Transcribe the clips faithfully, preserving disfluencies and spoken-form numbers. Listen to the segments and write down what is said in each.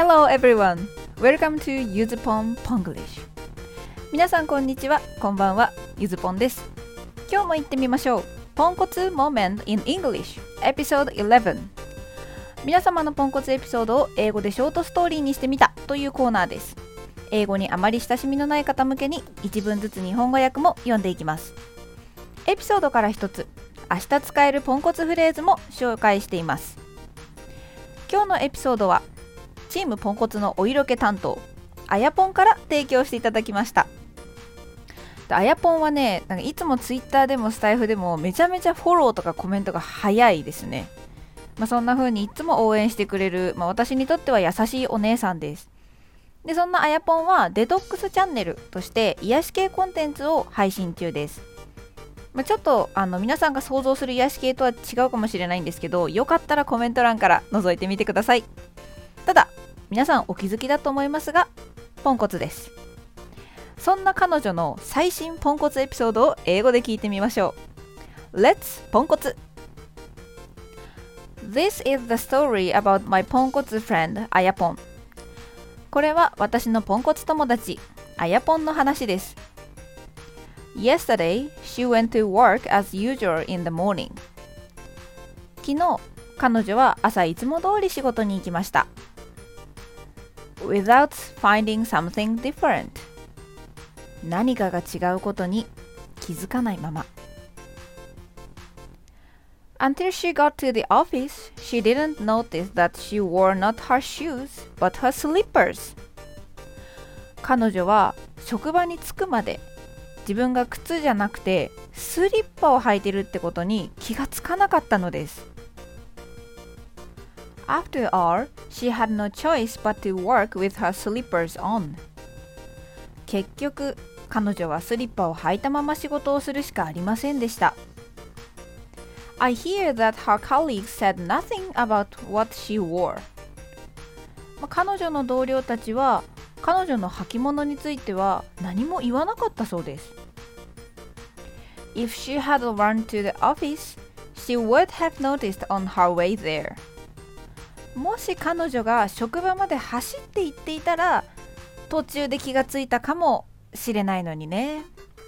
Hello everyone! Welcome to Yuzupon Ponglish. 皆さんこんにちは、こんばんは、ゆずぽんです。今日も行ってみましょう。ポンコツ Moment in English Episode じゅういち。皆様のポンコツエピソードを英語でショートストーリーにしてみたというコーナーです。英語にあまり親しみのない方向けに一文ずつ日本語訳も読んでいきます。エピソードから一つ、明日使えるポンコツフレーズも紹介しています。今日のエピソードはチームポンコツのお色気担当あやぽんから提供していただきました。あやぽんはね、なんかいつもツイッターでもスタイフでもめちゃめちゃフォローとかコメントが早いですね。まあ、そんな風にいつも応援してくれる、まあ、私にとっては優しいお姉さんです。でそんなあやぽんはデトックスチャンネルとして癒し系コンテンツを配信中です。まあ、ちょっとあの皆さんが想像する癒し系とは違うかもしれないんですけど、よかったらコメント欄から覗いてみてください。ただ皆さんお気づきだと思いますが、ポンコツです。そんな彼女の最新ポンコツエピソードを英語で聞いてみましょう。 Let's ポンコツ。 This is the story about my ポンコツ friend あやぽん。これは私のポンコツ友達あやぽんの話です。 Yesterday, she went to work as usual in the morning. 昨日彼女は朝いつも通り仕事に行きました。Without finding something different. 何かが違うことに気づかないまま。Until she got to the office, she didn't notice that she wore not her shoes, but her slippers. 彼女は職場に着くまで自分が靴じゃなくてスリッパを履いてるってことに気がつかなかったのです。After all, she had no choice but to work with her slippers on. 結局、彼女はスリッパを履いたまま仕事をするしかありませんでした。I hear that her colleagues said nothing about what she wore. まあ、彼女の同僚たちは、彼女の履物については何も言わなかったそうです。If she had run to the office, she would have noticed on her way there.もし彼女が職場まで走って行っていたら途中で気がついたかもしれないのにね。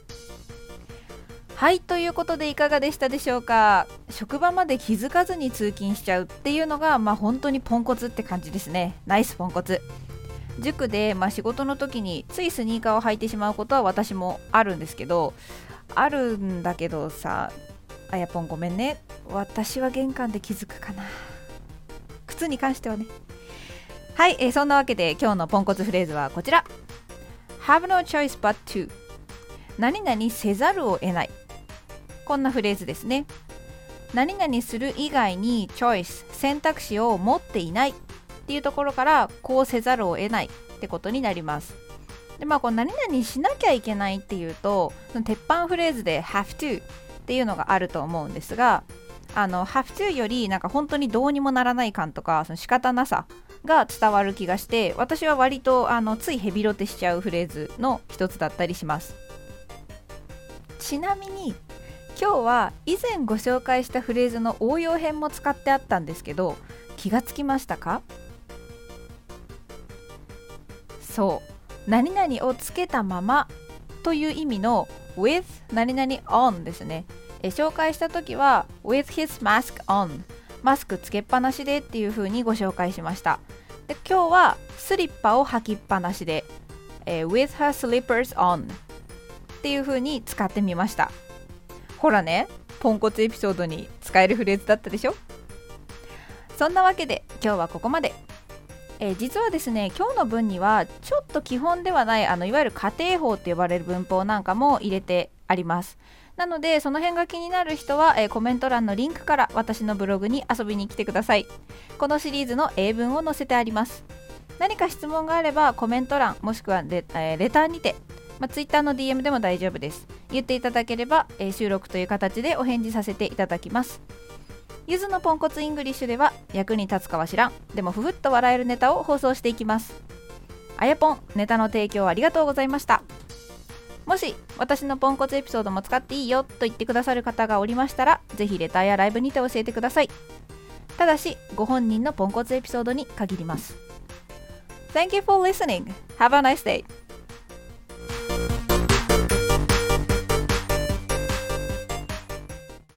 はい、ということでいかがでしたでしょうか。職場まで気づかずに通勤しちゃうっていうのがまあ本当にポンコツって感じですね。ナイスポンコツ。塾で、まあ、仕事の時についスニーカーを履いてしまうことは私もあるんですけどあるんだけどさ、あやぽんごめんね、私は玄関で気づくかな。靴に関してはね。はい、えー、そんなわけで今日のポンコツフレーズはこちら。 Have no choice but to 何々せざるを得ない。こんなフレーズですね。何々する以外にチョイス選択肢を持っていないっていうところからこうせざるを得ないってことになります。でまあこう何々しなきゃいけないっていうと鉄板フレーズで have to っていうのがあると思うんですが、あの have to よりなんか本当にどうにもならない感とかその仕方なさが伝わる気がして、私は割とあのついヘビロテしちゃうフレーズの一つだったりします。ちなみに今日は以前ご紹介したフレーズの応用編も使ってあったんですけど、気がつきましたか？そう、何々をつけたままという意味の with 何々 on ですね。え紹介した時は with his mask on マスクつけっぱなしでっていう風にご紹介しました。で今日はスリッパを履きっぱなしで、えー、with her slippers on っていう風に使ってみました。ほらね、ポンコツエピソードに使えるフレーズだったでしょ。そんなわけで今日はここまで。えー、実はですね、今日の文にはちょっと基本ではないあのいわゆる家庭法って呼ばれる文法なんかも入れてあります。なのでその辺が気になる人は、えー、コメント欄のリンクから私のブログに遊びに来てください。このシリーズの英文を載せてあります。何か質問があればコメント欄もしくはレ、えー、レターにて、まあ、Twitter の ディーエム でも大丈夫です。言っていただければ、えー、収録という形でお返事させていただきます。ゆずのポンコツイングリッシュでは役に立つかは知らんでもふふっと笑えるネタを放送していきます。あやぽん、ネタの提供ありがとうございました。もし私のポンコツエピソードも使っていいよと言ってくださる方がおりましたら、ぜひレターやライブにて教えてください。ただしご本人のポンコツエピソードに限ります。 Thank you for listening. Have a nice day.